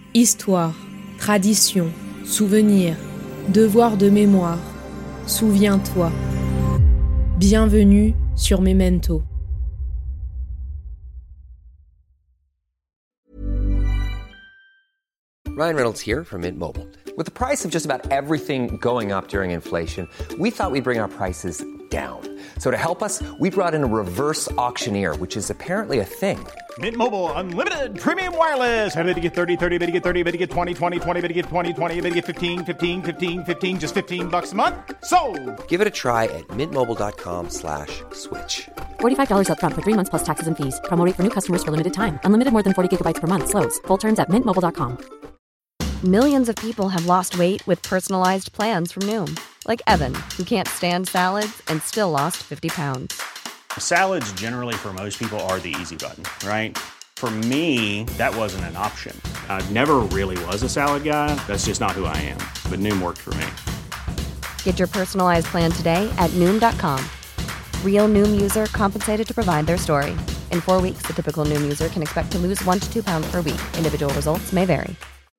Histoire, tradition, souvenir, devoir de mémoire, souviens-toi. Bienvenue sur Memento. Ryan Reynolds here from Mint Mobile. With the price of just about everything going up during inflation, we thought we'd bring our prices down. So to help us, we brought in a reverse auctioneer, which is apparently a thing. Mint Mobile Unlimited Premium Wireless. How to get 30, 30, bit to get 30, bit to get 20, 20, 20, bit to get 20, 20, bit to get 15, 15, 15, 15, just $15 a month? Sold! Give it a try at mintmobile.com/switch. $45 up front for 3 months plus taxes and fees. Promo rate for new customers for limited time. Unlimited more than 40 gigabytes per month. Slows full terms at mintmobile.com. Millions of people have lost weight with personalized plans from Noom. Like Evan, who can't stand salads and still lost 50 pounds. Salads generally for most people are the easy button, right? For me, that wasn't an option. I never really was a salad guy. That's just not who I am. But Noom worked for me. Get your personalized plan today at Noom.com. Real Noom user compensated to provide their story. In 4 weeks, the typical Noom user can expect to lose 1 to 2 pounds per week. Individual results may vary.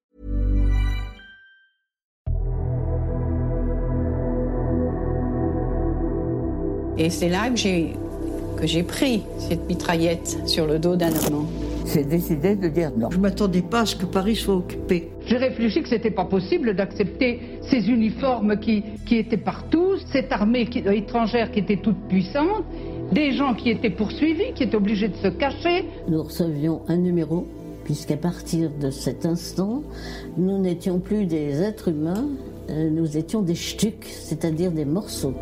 Et c'est là que j'ai pris cette mitraillette sur le dos d'un Allemand. J'ai décidé de dire non. Je ne m'attendais pas à ce que Paris soit occupé. J'ai réfléchi que ce n'était pas possible d'accepter ces uniformes qui étaient partout, cette armée étrangère qui était toute puissante, des gens qui étaient poursuivis, qui étaient obligés de se cacher. Nous recevions un numéro, puisqu'à partir de cet instant, nous n'étions plus des êtres humains, nous étions des stucs, c'est-à-dire des morceaux.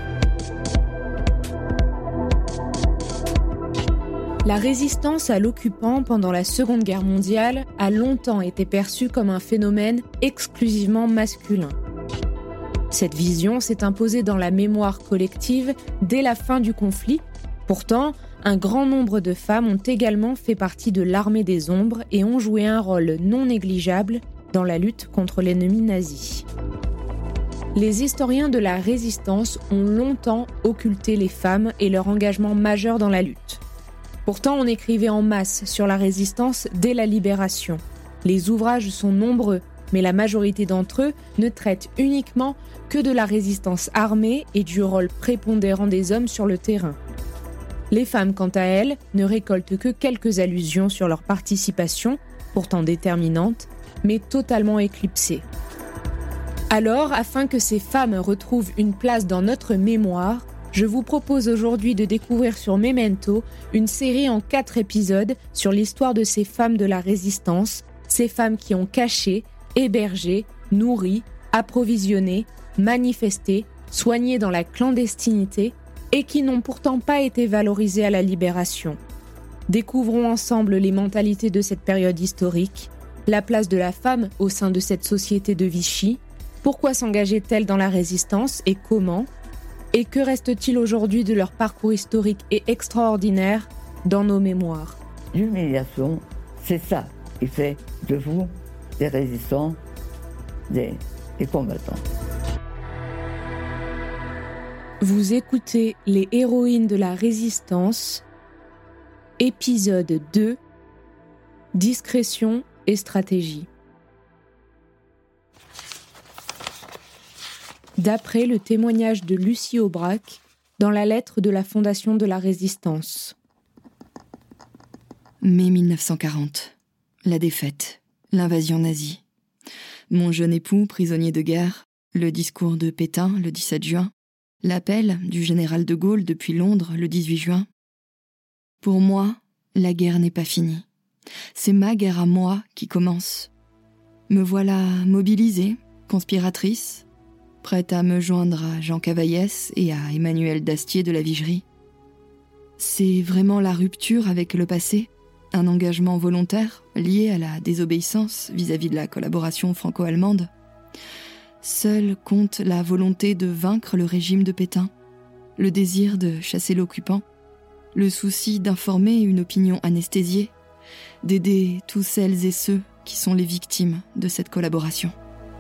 La résistance à l'occupant pendant la Seconde Guerre mondiale a longtemps été perçue comme un phénomène exclusivement masculin. Cette vision s'est imposée dans la mémoire collective dès la fin du conflit. Pourtant, un grand nombre de femmes ont également fait partie de l'armée des ombres et ont joué un rôle non négligeable dans la lutte contre l'ennemi nazi. Les historiens de la résistance ont longtemps occulté les femmes et leur engagement majeur dans la lutte. Pourtant, on écrivait en masse sur la résistance dès la Libération. Les ouvrages sont nombreux, mais la majorité d'entre eux ne traitent uniquement que de la résistance armée et du rôle prépondérant des hommes sur le terrain. Les femmes, quant à elles, ne récoltent que quelques allusions sur leur participation, pourtant déterminante, mais totalement éclipsée. Alors, afin que ces femmes retrouvent une place dans notre mémoire, je vous propose aujourd'hui de découvrir sur Memento une série en 4 épisodes sur l'histoire de ces femmes de la résistance, ces femmes qui ont caché, hébergé, nourri, approvisionné, manifesté, soigné dans la clandestinité et qui n'ont pourtant pas été valorisées à la Libération. Découvrons ensemble les mentalités de cette période historique, la place de la femme au sein de cette société de Vichy, pourquoi s'engageait-elle dans la résistance et comment ? Et que reste-t-il aujourd'hui de leur parcours historique et extraordinaire dans nos mémoires ? L'humiliation, c'est ça qui fait de vous des résistants, des combattants. Vous écoutez Les héroïnes de la résistance, épisode 2, discrétion et stratégie. D'après le témoignage de Lucie Aubrac dans la lettre de la Fondation de la Résistance. Mai 1940. La défaite. L'invasion nazie. Mon jeune époux, prisonnier de guerre. Le discours de Pétain, le 17 juin. L'appel du général de Gaulle depuis Londres, le 18 juin. Pour moi, la guerre n'est pas finie. C'est ma guerre à moi qui commence. Me voilà mobilisée, conspiratrice, prête à me joindre à Jean Cavaillès et à Emmanuel Dastier de la Vigerie. C'est vraiment la rupture avec le passé, un engagement volontaire lié à la désobéissance vis-à-vis de la collaboration franco-allemande. Seule compte la volonté de vaincre le régime de Pétain, le désir de chasser l'occupant, le souci d'informer une opinion anesthésiée, d'aider tous celles et ceux qui sont les victimes de cette collaboration.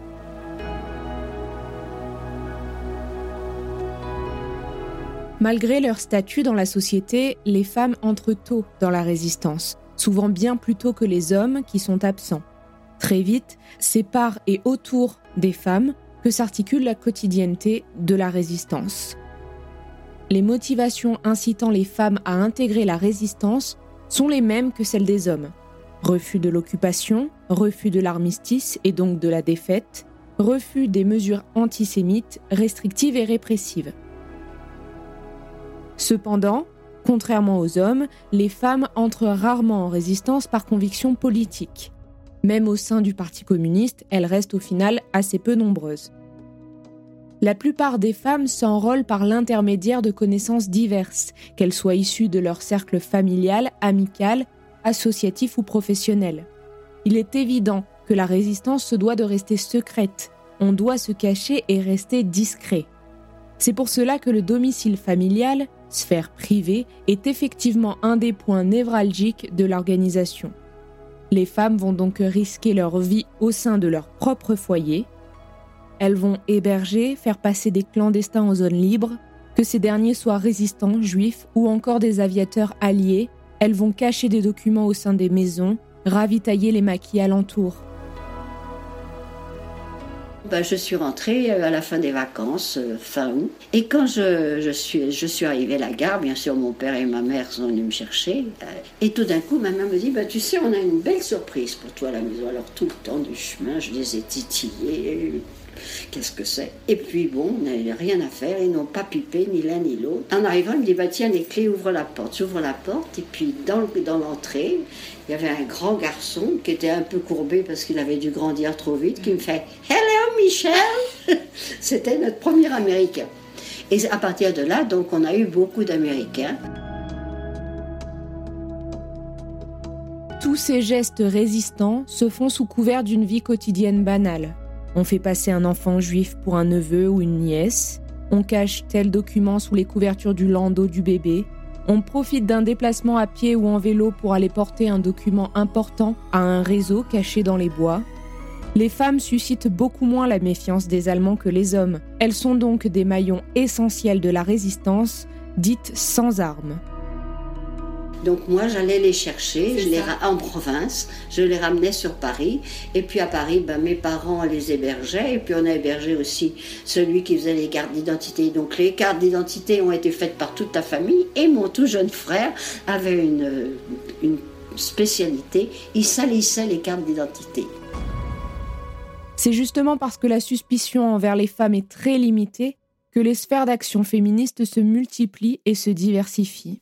Malgré leur statut dans la société, les femmes entrent tôt dans la résistance, souvent bien plus tôt que les hommes qui sont absents. Très vite, c'est par et autour des femmes que s'articule la quotidienneté de la résistance. Les motivations incitant les femmes à intégrer la résistance sont les mêmes que celles des hommes. Refus de l'occupation, refus de l'armistice et donc de la défaite, refus des mesures antisémites, restrictives et répressives. Cependant, contrairement aux hommes, les femmes entrent rarement en résistance par conviction politique. Même au sein du Parti communiste, elles restent au final assez peu nombreuses. La plupart des femmes s'enrôlent par l'intermédiaire de connaissances diverses, qu'elles soient issues de leur cercle familial, amical, associatif ou professionnel. Il est évident que la résistance se doit de rester secrète. On doit se cacher et rester discret. C'est pour cela que le domicile familial, sphère privée, est effectivement un des points névralgiques de l'organisation. Les femmes vont donc risquer leur vie au sein de leur propre foyer. Elles vont héberger, faire passer des clandestins en zone libre, que ces derniers soient résistants, juifs ou encore des aviateurs alliés. Elles vont cacher des documents au sein des maisons, ravitailler les maquis alentours. Je suis rentrée à la fin des vacances, fin août. Et quand je suis arrivée à la gare, bien sûr, mon père et ma mère sont venus me chercher. Et tout d'un coup, ma mère me dit, tu sais, on a une belle surprise pour toi à la maison. Alors tout le temps du chemin, je les ai titillés. Qu'est-ce que c'est? Et puis on n'avait rien à faire, ils n'ont pas pipé, ni l'un ni l'autre. En arrivant, il me dit, tiens, les clés, ouvre la porte. J'ouvre la porte, et puis dans l'entrée, il y avait un grand garçon qui était un peu courbé parce qu'il avait dû grandir trop vite, qui me fait « Hello, Michel !» C'était notre premier Américain. Et à partir de là, donc, on a eu beaucoup d'Américains. Tous ces gestes résistants se font sous couvert d'une vie quotidienne banale. On fait passer un enfant juif pour un neveu ou une nièce. On cache tel document sous les couvertures du landau du bébé. On profite d'un déplacement à pied ou en vélo pour aller porter un document important à un réseau caché dans les bois. Les femmes suscitent beaucoup moins la méfiance des Allemands que les hommes. Elles sont donc des maillons essentiels de la résistance, dite sans armes. Donc moi, j'allais les chercher en province, je les ramenais sur Paris. Et puis à Paris, mes parents les hébergeaient. Et puis on a hébergé aussi celui qui faisait les cartes d'identité. Donc les cartes d'identité ont été faites par toute la famille. Et mon tout jeune frère avait une spécialité, il salissait les cartes d'identité. C'est justement parce que la suspicion envers les femmes est très limitée que les sphères d'action féministes se multiplient et se diversifient.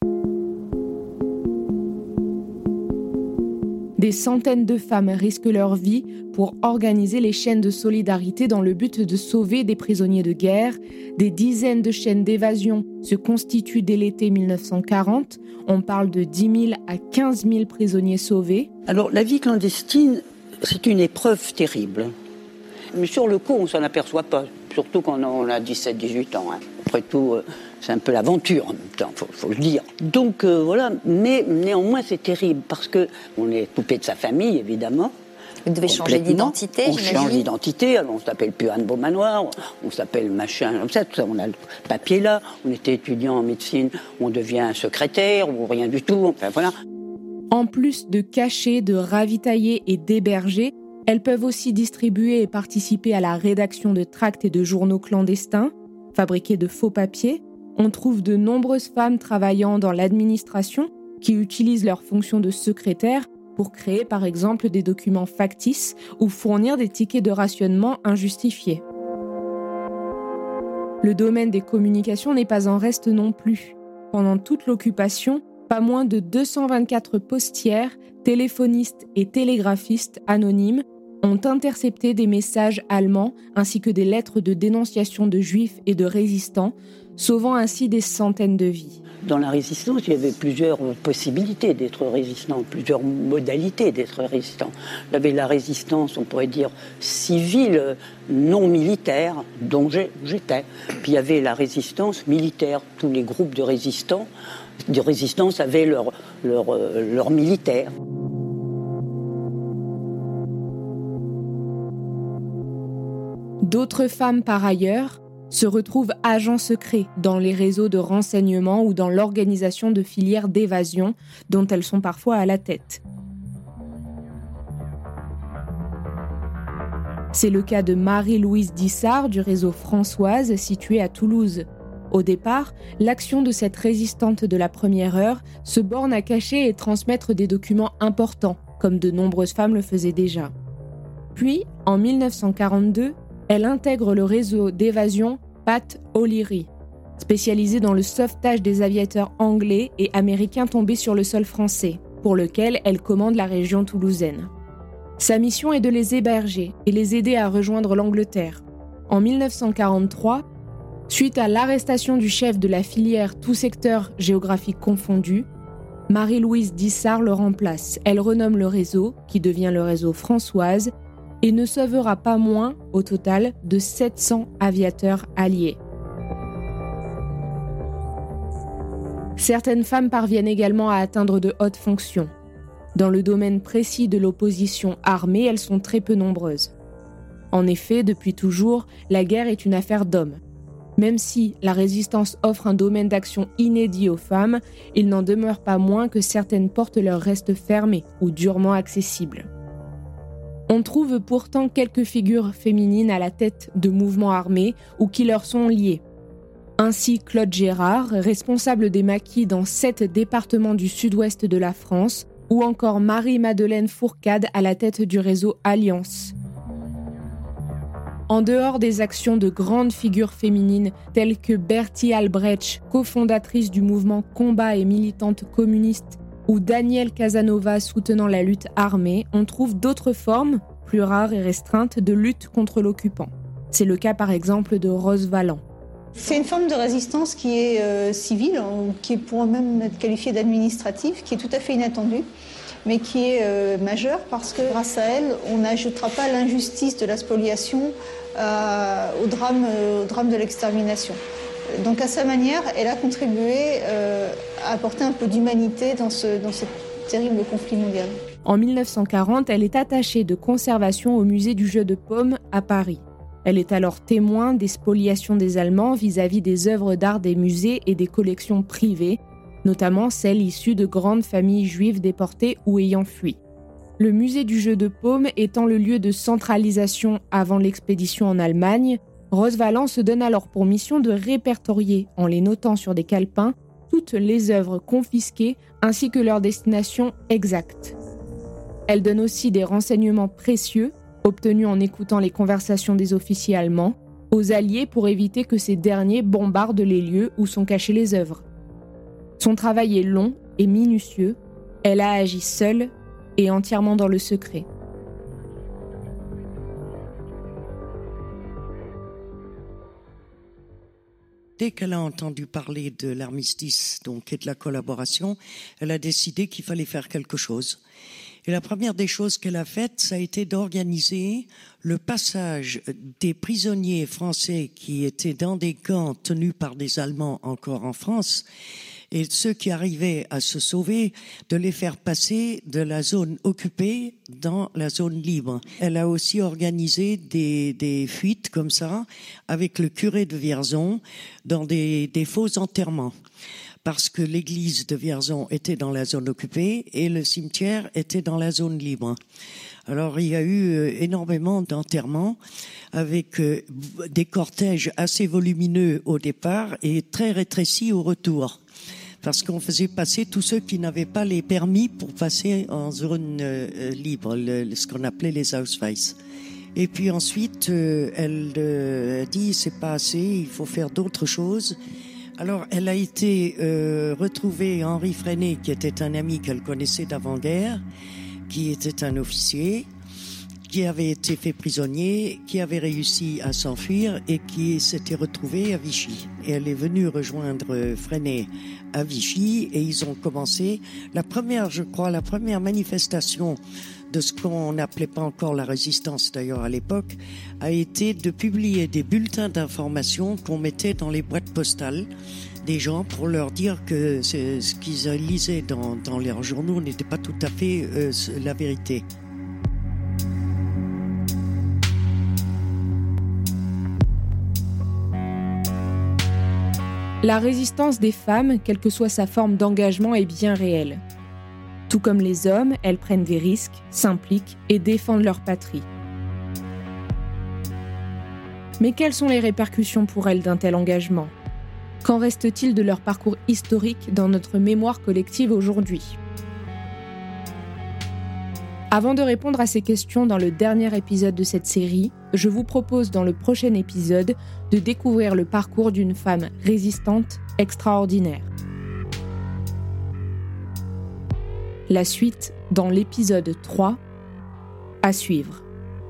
Des centaines de femmes risquent leur vie pour organiser les chaînes de solidarité dans le but de sauver des prisonniers de guerre. Des dizaines de chaînes d'évasion se constituent dès l'été 1940. On parle de 10 000 à 15 000 prisonniers sauvés. Alors la vie clandestine, c'est une épreuve terrible. Mais sur le coup, on ne s'en aperçoit pas, surtout quand on a 17-18 ans. Après tout, c'est un peu l'aventure en même temps, faut le dire. Donc voilà, mais néanmoins c'est terrible parce qu'on est coupé de sa famille, évidemment. Vous devez changer d'identité, j'imagine. On change d'identité, alors on s'appelle plus Anne Beaumanoir, on s'appelle machin, comme ça, tout ça, on a le papier là. On était étudiant en médecine, on devient secrétaire ou rien du tout, enfin voilà. En plus de cacher, de ravitailler et d'héberger, elles peuvent aussi distribuer et participer à la rédaction de tracts et de journaux clandestins, fabriquer de faux papiers. On trouve de nombreuses femmes travaillant dans l'administration qui utilisent leur fonction de secrétaire pour créer par exemple des documents factices ou fournir des tickets de rationnement injustifiés. Le domaine des communications n'est pas en reste non plus. Pendant toute l'occupation, pas moins de 224 postières, téléphonistes et télégraphistes anonymes ont intercepté des messages allemands ainsi que des lettres de dénonciation de juifs et de résistants, sauvant ainsi des centaines de vies. Dans la résistance, il y avait plusieurs possibilités d'être résistant, plusieurs modalités d'être résistant. Il y avait la résistance, on pourrait dire, civile, non militaire, dont j'étais. Puis il y avait la résistance militaire. Tous les groupes de résistance avaient leur militaire. D'autres femmes, par ailleurs, se retrouvent agents secrets dans les réseaux de renseignement ou dans l'organisation de filières d'évasion dont elles sont parfois à la tête. C'est le cas de Marie-Louise Dissart du réseau Françoise situé à Toulouse. Au départ, l'action de cette résistante de la première heure se borne à cacher et transmettre des documents importants, comme de nombreuses femmes le faisaient déjà. Puis, en 1942, elle intègre le réseau d'évasion Pat O'Leary, spécialisé dans le sauvetage des aviateurs anglais et américains tombés sur le sol français, pour lequel elle commande la région toulousaine. Sa mission est de les héberger et les aider à rejoindre l'Angleterre. En 1943, suite à l'arrestation du chef de la filière tout secteur géographique confondu, Marie-Louise Dissart le remplace. Elle renomme le réseau, qui devient le réseau Françoise, et ne sauvera pas moins, au total, de 700 aviateurs alliés. Certaines femmes parviennent également à atteindre de hautes fonctions. Dans le domaine précis de l'opposition armée, elles sont très peu nombreuses. En effet, depuis toujours, la guerre est une affaire d'hommes. Même si la résistance offre un domaine d'action inédit aux femmes, il n'en demeure pas moins que certaines portes leur restent fermées ou durement accessibles. On trouve pourtant quelques figures féminines à la tête de mouvements armés ou qui leur sont liées. Ainsi Claude Gérard, responsable des maquis dans 7 départements du sud-ouest de la France, ou encore Marie-Madeleine Fourcade à la tête du réseau Alliance. En dehors des actions de grandes figures féminines telles que Bertie Albrecht, cofondatrice du mouvement Combat et militante communiste, ou Danielle Casanova soutenant la lutte armée, on trouve d'autres formes, plus rares et restreintes, de lutte contre l'occupant. C'est le cas par exemple de Rose Valland. C'est une forme de résistance qui est civile, qui pourrait même être qualifiée d'administrative, qui est tout à fait inattendue, mais qui est majeure parce que grâce à elle, on n'ajoutera pas l'injustice de la spoliation au drame de l'extermination. Donc à sa manière, elle a contribué à apporter un peu d'humanité dans ce terrible conflit mondial. En 1940, elle est attachée de conservation au musée du jeu de paume à Paris. Elle est alors témoin des spoliations des Allemands vis-à-vis des œuvres d'art des musées et des collections privées, notamment celles issues de grandes familles juives déportées ou ayant fui. Le musée du jeu de paume étant le lieu de centralisation avant l'expédition en Allemagne, Rose Valland se donne alors pour mission de répertorier, en les notant sur des calepins, toutes les œuvres confisquées ainsi que leur destination exacte. Elle donne aussi des renseignements précieux, obtenus en écoutant les conversations des officiers allemands, aux Alliés pour éviter que ces derniers bombardent les lieux où sont cachées les œuvres. Son travail est long et minutieux, elle a agi seule et entièrement dans le secret. Dès qu'elle a entendu parler de l'armistice donc, et de la collaboration, elle a décidé qu'il fallait faire quelque chose. Et la première des choses qu'elle a faites, ça a été d'organiser le passage des prisonniers français qui étaient dans des camps tenus par des Allemands encore en France, et ceux qui arrivaient à se sauver, de les faire passer de la zone occupée dans la zone libre. Elle a aussi organisé des fuites comme ça, avec le curé de Vierzon, dans des faux enterrements. Parce que l'église de Vierzon était dans la zone occupée et le cimetière était dans la zone libre. Alors il y a eu énormément d'enterrements avec des cortèges assez volumineux au départ et très rétrécis au retour. Parce qu'on faisait passer tous ceux qui n'avaient pas les permis pour passer en zone libre, ce qu'on appelait les Ausweis. Et puis ensuite, elle dit c'est pas assez, il faut faire d'autres choses. Alors, elle a été retrouvée Henri Freinet, qui était un ami qu'elle connaissait d'avant-guerre, qui était un officier, qui avait été fait prisonnier, qui avait réussi à s'enfuir et qui s'était retrouvé à Vichy. Et elle est venue rejoindre Freinet à Vichy et ils ont commencé la première manifestation de ce qu'on n'appelait pas encore la résistance d'ailleurs à l'époque, a été de publier des bulletins d'information qu'on mettait dans les boîtes postales des gens pour leur dire que ce qu'ils lisaient dans leurs journaux n'était pas tout à fait la vérité. La résistance des femmes, quelle que soit sa forme d'engagement, est bien réelle. Tout comme les hommes, elles prennent des risques, s'impliquent et défendent leur patrie. Mais quelles sont les répercussions pour elles d'un tel engagement ? Qu'en reste-t-il de leur parcours historique dans notre mémoire collective aujourd'hui ? Avant de répondre à ces questions dans le dernier épisode de cette série, je vous propose dans le prochain épisode de découvrir le parcours d'une femme résistante extraordinaire. La suite dans l'épisode 3, à suivre.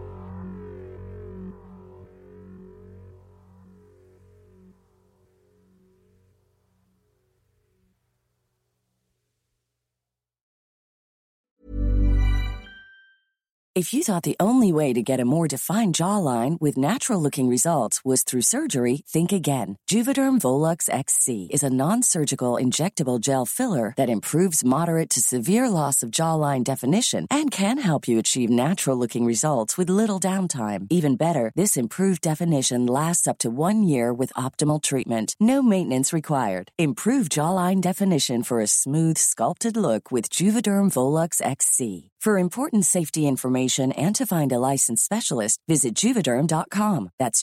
If you thought the only way to get a more defined jawline with natural-looking results was through surgery, think again. Juvederm Volux XC is a non-surgical injectable gel filler that improves moderate to severe loss of jawline definition and can help you achieve natural-looking results with little downtime. Even better, this improved definition lasts up to 1 year with optimal treatment. No maintenance required. Improve jawline definition for a smooth, sculpted look with Juvederm Volux XC. For important safety information and to find a licensed specialist, visit Juvederm.com. That's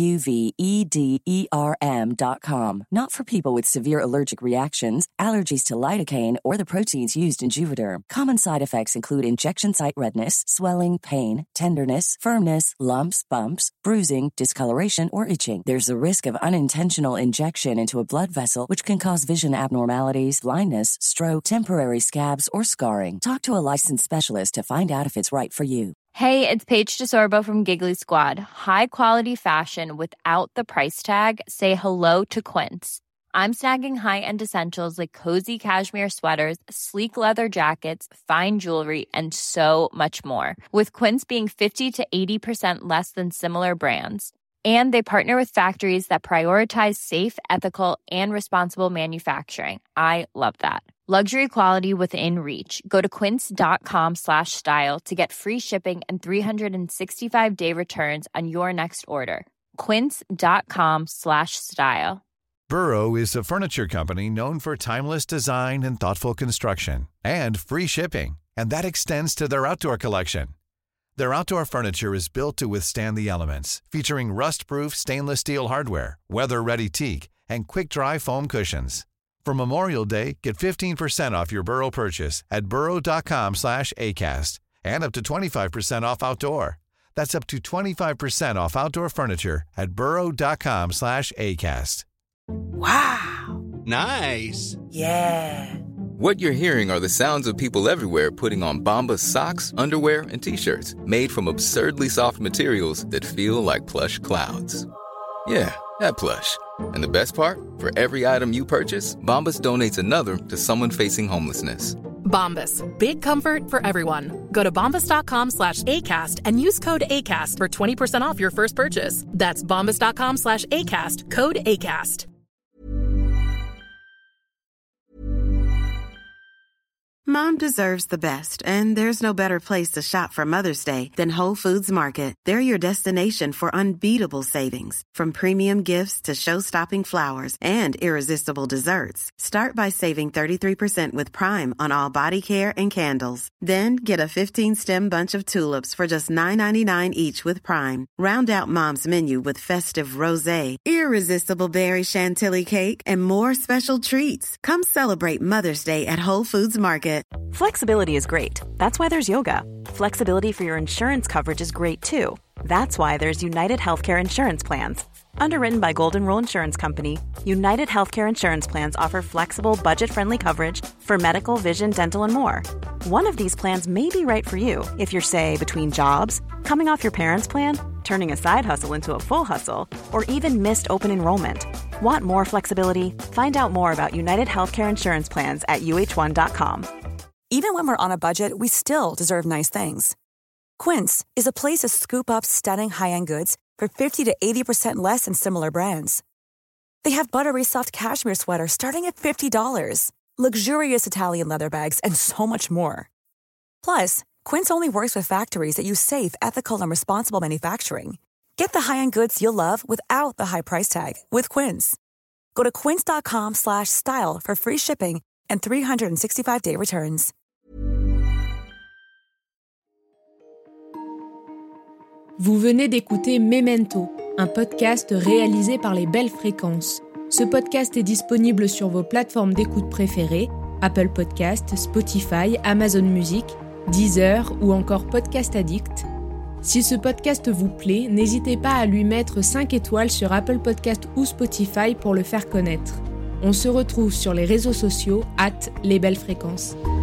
JUVEDERM.com. Not for people with severe allergic reactions, allergies to lidocaine, or the proteins used in Juvederm. Common side effects include injection site redness, swelling, pain, tenderness, firmness, lumps, bumps, bruising, discoloration, or itching. There's a risk of unintentional injection into a blood vessel, which can cause vision abnormalities, blindness, stroke, temporary scabs, or scarring. Talk to a licensed specialist to find out if it's right for you. Hey, it's Paige DeSorbo from Giggly Squad. High quality fashion without the price tag. Say hello to Quince. I'm snagging high-end essentials like cozy cashmere sweaters, sleek leather jackets, fine jewelry, and so much more. With Quince being 50 to 80% less than similar brands. And they partner with factories that prioritize safe, ethical, and responsible manufacturing. I love that. Luxury quality within reach. Go to quince.com/style to get free shipping and 365-day returns on your next order. Quince.com/style. Burrow is a furniture company known for timeless design and thoughtful construction, and free shipping, and that extends to their outdoor collection. Their outdoor furniture is built to withstand the elements, featuring rust-proof stainless steel hardware, weather-ready teak, and quick-dry foam cushions. For Memorial Day, get 15% off your Burrow purchase at burrow.com/acast, and up to 25% off outdoor. That's up to 25% off outdoor furniture at burrow.com/acast. Wow! Nice! Yeah! What you're hearing are the sounds of people everywhere putting on Bombas socks, underwear, and T-shirts made from absurdly soft materials that feel like plush clouds. Yeah, that plush. And the best part? For every item you purchase, Bombas donates another to someone facing homelessness. Bombas. Big comfort for everyone. Go to bombas.com/ACAST and use code ACAST for 20% off your first purchase. That's bombas.com/ACAST. Code ACAST. Mom deserves the best, and there's no better place to shop for Mother's Day than Whole Foods Market. They're your destination for unbeatable savings, from premium gifts to show-stopping flowers and irresistible desserts. Start by saving 33% with Prime on all body care and candles. Then get a 15-stem bunch of tulips for just $9.99 each with Prime. Round out Mom's menu with festive rosé, irresistible berry chantilly cake, and more special treats. Come celebrate Mother's Day at Whole Foods Market. Flexibility is great. That's why there's yoga. Flexibility for your insurance coverage is great too. That's why there's United Healthcare Insurance Plans. Underwritten by Golden Rule Insurance Company, United Healthcare Insurance Plans offer flexible, budget-friendly coverage for medical, vision, dental, and more. One of these plans may be right for you if you're, say, between jobs, coming off your parents' plan, turning a side hustle into a full hustle, or even missed open enrollment. Want more flexibility? Find out more about United Healthcare Insurance Plans at uh1.com. Even when we're on a budget, we still deserve nice things. Quince is a place to scoop up stunning high-end goods for 50 to 80% less than similar brands. They have buttery soft cashmere sweaters starting at $50, luxurious Italian leather bags, and so much more. Plus, Quince only works with factories that use safe, ethical, and responsible manufacturing. Get the high-end goods you'll love without the high price tag with Quince. Go to quince.com/style for free shipping and 365-day returns. Vous venez d'écouter Memento, un podcast réalisé par les Belles Fréquences. Ce podcast est disponible sur vos plateformes d'écoute préférées, Apple Podcasts, Spotify, Amazon Music, Deezer ou encore Podcast Addict. Si ce podcast vous plaît, n'hésitez pas à lui mettre 5 étoiles sur Apple Podcasts ou Spotify pour le faire connaître. On se retrouve sur les réseaux sociaux @lesbellesfréquences.